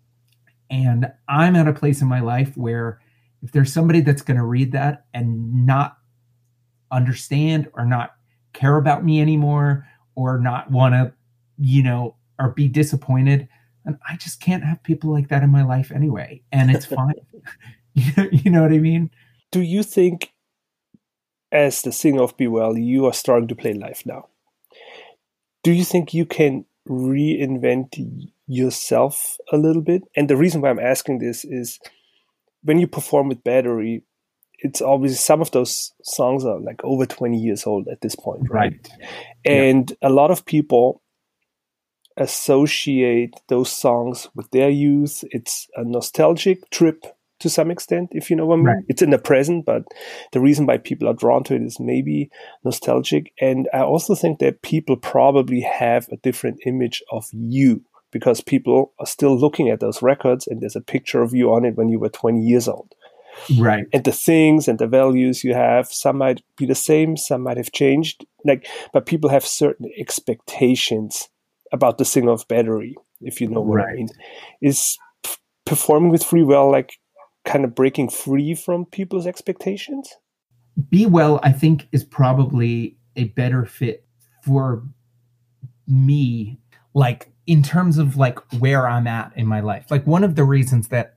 And I'm at a place in my life where if there's somebody that's going to read that and not understand or not care about me anymore or not want to, you know, or be disappointed, and I just can't have people like that in my life anyway. And it's fine. You know what I mean? Do you think, as the singer of Be Well, you are starting to play live now? Do you think you can reinvent yourself a little bit? And the reason why I'm asking this is when you perform with Battery, it's obviously some of those songs are like over twenty years old at this point, right? right. And yeah. a lot of people associate those songs with their youth. It's a nostalgic trip to some extent, if you know what I mean. Right. It's in the present, but the reason why people are drawn to it is maybe nostalgic. And I also think that people probably have a different image of you because people are still looking at those records and there's a picture of you on it when you were twenty years old. Right. And the things and the values you have, some might be the same, some might have changed. Like, but people have certain expectations about the singer of Battery, if you know what right. I mean. Is p- performing with Free Well like kind of breaking free from people's expectations? Be Well, I think, is probably a better fit for me, like in terms of like where I'm at in my life. Like one of the reasons that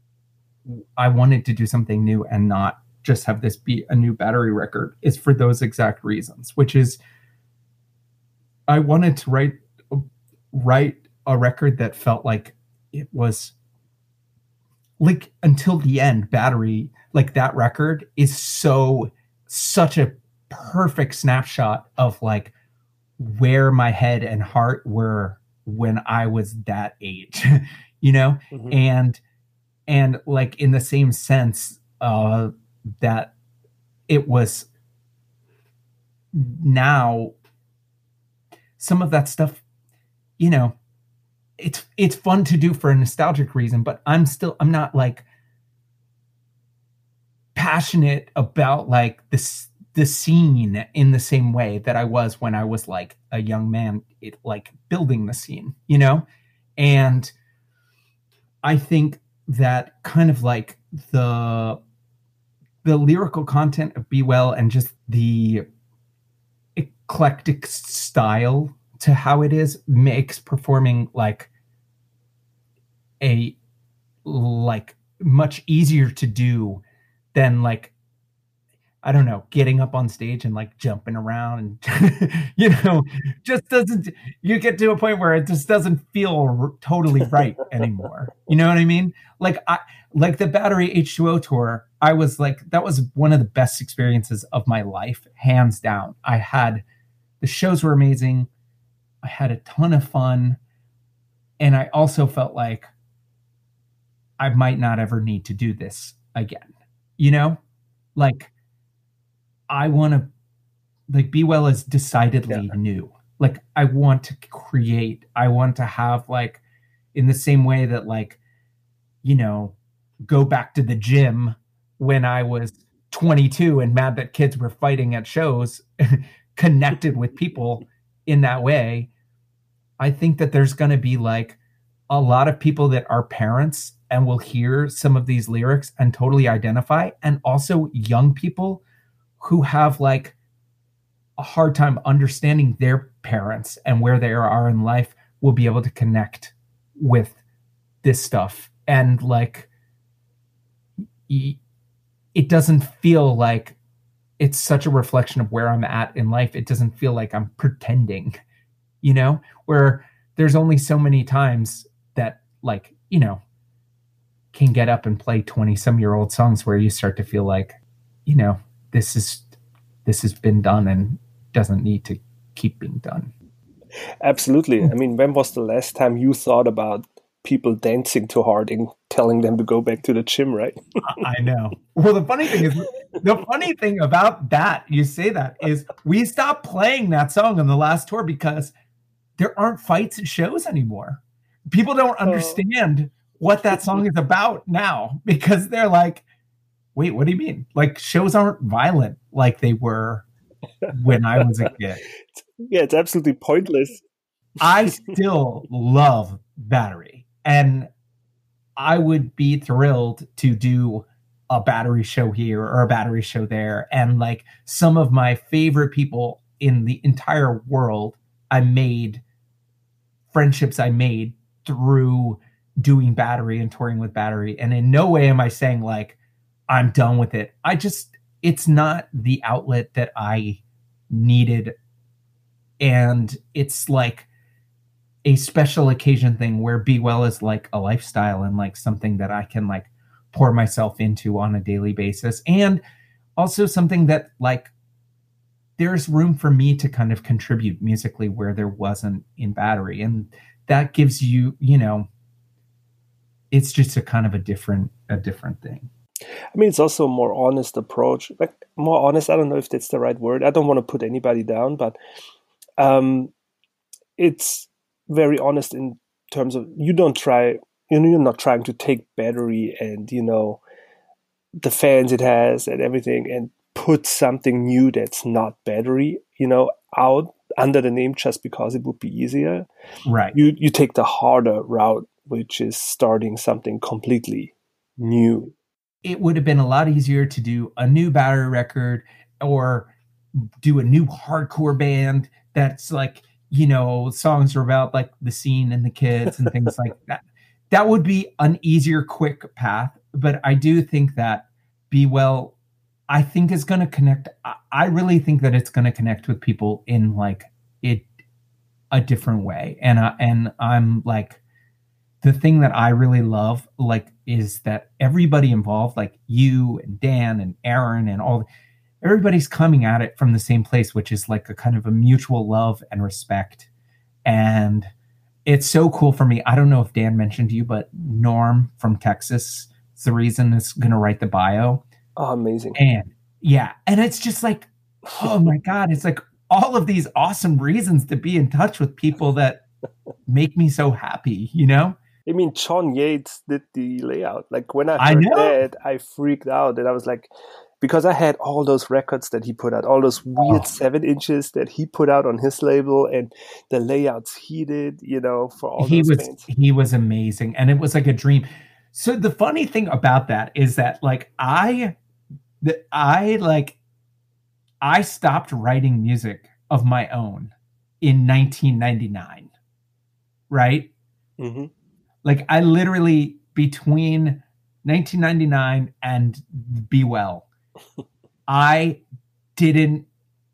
I wanted to do something new and not just have this be a new Battery record is for those exact reasons, which is I wanted to write write a record that felt like it was like until the end. Battery, like that record is so such a perfect snapshot of like where my head and heart were when I was that age, you know, mm-hmm. and and like in the same sense uh, that it was now some of that stuff, you know, it's it's fun to do for a nostalgic reason, but I'm still I'm not like passionate about like this the scene in the same way that I was when I was like a young man, it, like building the scene, you know? And I think that kind of like the the lyrical content of Be Well and just the eclectic style to how it is makes performing like a like much easier to do than like I don't know, getting up on stage and like jumping around and, you know, just doesn't, you get to a point where it just doesn't feel r- totally right anymore. You know what I mean? Like I, like the Battery H two O tour, I was like, that was one of the best experiences of my life, hands down. I had, the shows were amazing. I had a ton of fun. And I also felt like I might not ever need to do this again. You know, like, I want to, like, Be Well is decidedly yeah. new. Like, I want to create, I want to have, like, in the same way that, like, you know, go back to the gym when I was twenty-two and mad that kids were fighting at shows, connected with people in that way. I think that there's going to be, like, a lot of people that are parents and will hear some of these lyrics and totally identify, and also young people who have like a hard time understanding their parents and where they are in life will be able to connect with this stuff. And like, it doesn't feel like it's such a reflection of where I'm at in life. It doesn't feel like I'm pretending, you know, where there's only so many times that like, you know, can get up and play twenty some year old songs where you start to feel like, you know, this is this has been done and doesn't need to keep being done. Absolutely. I mean, when was the last time you thought about people dancing too hard and telling them to go back to the gym, right? I know. Well, the funny thing is, the funny thing about that, you say that, is we stopped playing that song on the last tour because there aren't fights at shows anymore. People don't understand uh, what that song is about now because they're like, wait, what do you mean? Like, shows aren't violent like they were when I was a kid. Yeah, it's absolutely pointless. I still love Battery, and I would be thrilled to do a Battery show here or a Battery show there. And like some of my favorite people in the entire world, I made friendships I made through doing Battery and touring with Battery. And in no way am I saying like, I'm done with it. I just, it's not the outlet that I needed. And it's like a special occasion thing where Be Well is like a lifestyle and like something that I can like pour myself into on a daily basis. And also something that like there's room for me to kind of contribute musically where there wasn't in Battery. And that gives you, you know, it's just a kind of a different, a different thing. I mean, it's also a more honest approach. Like more honest, I don't know if that's the right word. I don't want to put anybody down, but um, it's very honest in terms of you don't try, you know, you're not trying to take Battery and, you know, the fans it has and everything and put something new that's not Battery, you know, out under the name just because it would be easier. Right. You you take the harder route, which is starting something completely new. It would have been a lot easier to do a new Battery record or do a new hardcore band that's like, you know, songs are about like the scene and the kids and things like that. That would be an easier, quick path. But I do think that Be Well, I think is going to connect. I really think that it's going to connect with people in like it a different way. And I, and I'm like, the thing that I really love, like, is that everybody involved, like you and Dan and Aaron and all, everybody's coming at it from the same place, which is like a kind of a mutual love and respect. And it's so cool for me. I don't know if Dan mentioned to you, but Norm from Texas is the reason is going to write the bio. Oh, amazing. And yeah. And it's just like, oh my God, it's like all of these awesome reasons to be in touch with people that make me so happy, you know? I mean, John Yates did the layout. Like when I I heard know. that, I freaked out. And I was like, because I had all those records that he put out, all those weird Oh. seven inches that he put out on his label and the layouts he did, you know, for all he those was bands. he was amazing, and it was like a dream. So the funny thing about that is that like I the, I like I stopped writing music of my own in nineteen ninety-nine, right? Mm-hmm. Like I literally between nineteen ninety-nine and Be Well, I didn't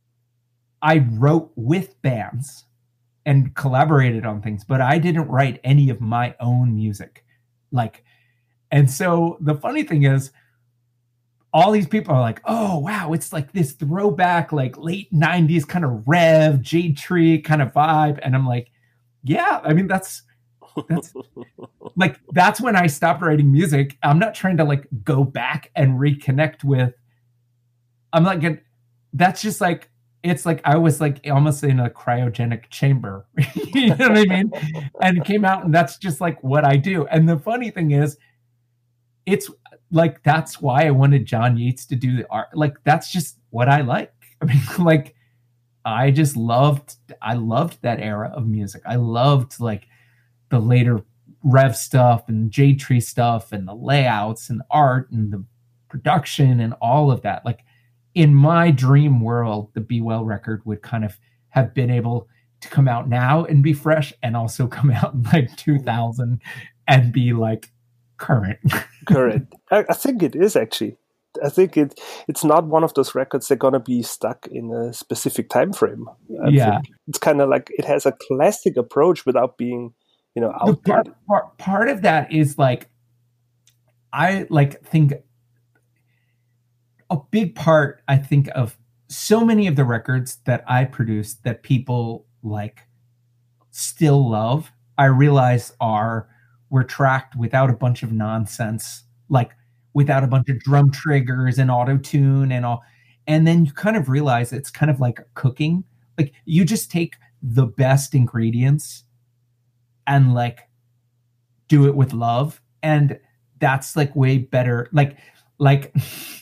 I wrote with bands and collaborated on things, but I didn't write any of my own music. Like, and so the funny thing is, all these people are like, oh, wow, it's like this throwback, like late nineties kind of Rev, Jade Tree kind of vibe. And I'm like, yeah, I mean, that's, that's like, that's when I stopped writing music. I'm not trying to like go back and reconnect with, I'm like, that's just like, it's like I was like almost in a cryogenic chamber, you know what I mean? And it came out, and that's just like what I do. And the funny thing is, it's like that's why I wanted John Yates to do the art. Like that's just what I like. I mean, like I just loved, I loved that era of music. I loved like the later Rev stuff and Jade Tree stuff and the layouts and the art and the production and all of that. Like, in my dream world, the Be Well record would kind of have been able to come out now and be fresh, and also come out in like two thousand and be like current. Current. I, I think it is actually. I think it it's not one of those records that are gonna be stuck in a specific time frame. I yeah, think it's kind of like it has a classic approach without being, you know, outdated. part, part part of that is like I like think. A big part, I think, of so many of the records that I produce that people like still love, I realize are were tracked without a bunch of nonsense, like without a bunch of drum triggers and auto tune and all. And then you kind of realize it's kind of like cooking. Like you just take the best ingredients and like do it with love. And that's like way better. Like, like,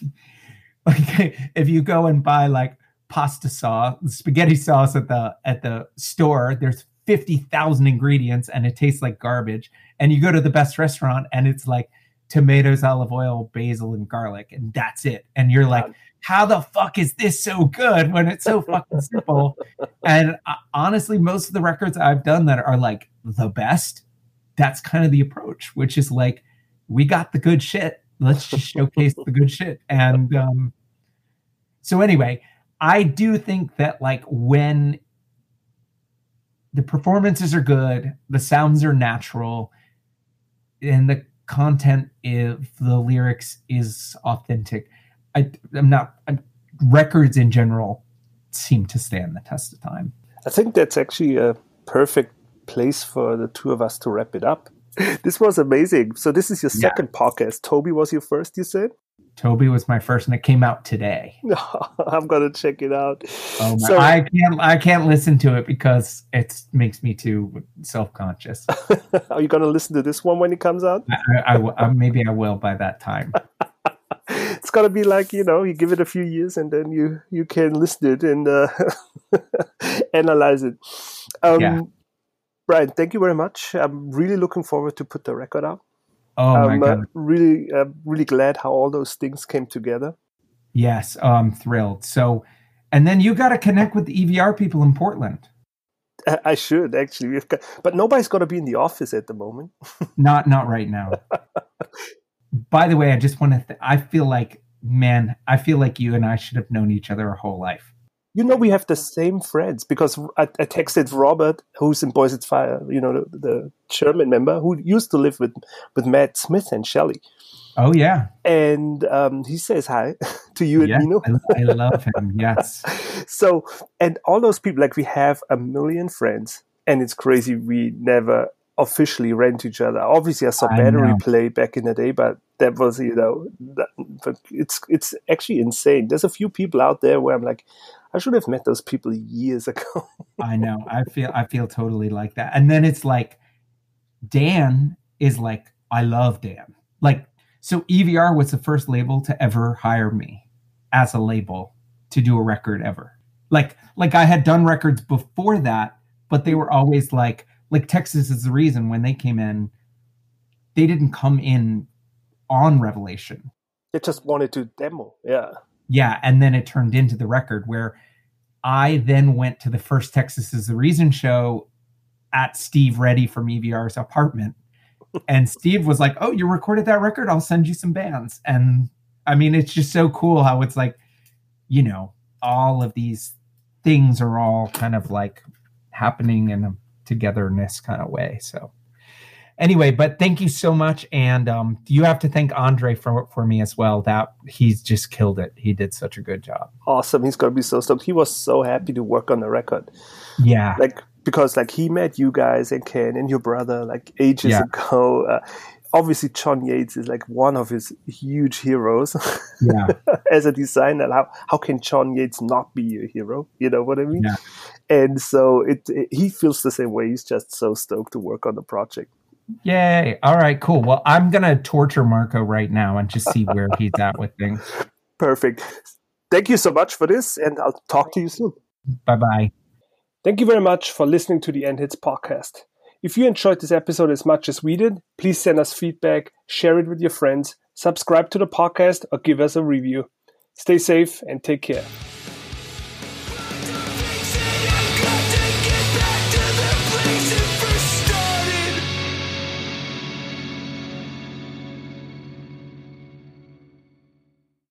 like if you go and buy like pasta sauce, spaghetti sauce at the, at the store, there's fifty thousand ingredients and it tastes like garbage. And you go to the best restaurant and it's like tomatoes, olive oil, basil, and garlic, and that's it. And you're like, how the fuck is this so good when it's so fucking simple? And uh, honestly, most of the records I've done that are like the best, that's kind of the approach, which is like, we got the good shit. Let's just showcase the good shit. And um, so anyway, I do think that like when the performances are good, the sounds are natural, and the content is, the lyrics is authentic, I, I'm not, I'm, records in general seem to stand the test of time. I think that's actually a perfect place for the two of us to wrap it up. This was amazing. So this is your second yeah. podcast. Toby was your first, you said? Toby was my first, and it came out today. I'm gonna check it out. Oh my, so, I can't. I can't listen to it because it makes me too self-conscious. Are you gonna listen to this one when it comes out? I, I, I, maybe I will by that time. It's gotta be like, you know, you give it a few years and then you you can listen to it and uh, analyze it. Um, yeah. Brian, thank you very much. I'm really looking forward to put the record out. Oh my I'm God. uh, really, uh, really glad how all those things came together. Yes, oh, I'm thrilled. So, and then you got to connect with the E V R people in Portland. I, I should actually, We've got, but nobody's going to be in the office at the moment. not, not right now. By the way, I just want to. Th- I feel like, man, I feel like you and I should have known each other our whole life. You know, we have the same friends because I, I texted Robert, who's in Boys at Fire, you know, the, the German member who used to live with, with Matt Smith and Shelley. Oh, yeah. And um, he says hi to you yes, and Nino. I, I love him, yes. So, and all those people, like we have a million friends and it's crazy. We never officially ran to each other. Obviously, I saw I Battery know. Play back in the day, but that was, you know, that, but it's it's actually insane. There's a few people out there where I'm like, I should have met those people years ago. I know. I feel I feel totally like that. And then it's like, Dan is like, I love Dan. Like, so E V R was the first label to ever hire me as a label to do a record ever. Like, like I had done records before that, but they were always like, like Texas Is the Reason, when they came in, they didn't come in on Revelation. They just wanted to demo. Yeah. Yeah. And then it turned into the record where I then went to the first Texas Is the Reason show at Steve Reddy from E V R's apartment. And Steve was like, oh, you recorded that record? I'll send you some bands. And I mean, it's just so cool how it's like, you know, all of these things are all kind of like happening in a togetherness kind of way. So anyway, but thank you so much. And um, you have to thank Andre for, for me as well. That he's just killed it. He did such a good job. Awesome. He's going to be so stoked. He was so happy to work on the record. Yeah. Like, because like he met you guys and Ken and your brother like ages yeah. ago. Uh, obviously, John Yates is like one of his huge heroes. Yeah. As a designer, how how can John Yates not be your hero? You know what I mean? Yeah. And so it, it he feels the same way. He's just so stoked to work on the project. Yay! All right, cool. Well, I'm gonna torture Marco right now and just see where he's at with things. Perfect. Thank you so much for this, and I'll talk to you soon. Bye bye. Thank you very much for listening to the End Hits podcast. If you enjoyed this episode as much as we did, please send us feedback, share it with your friends, subscribe to the podcast, or give us a review. Stay safe and take care.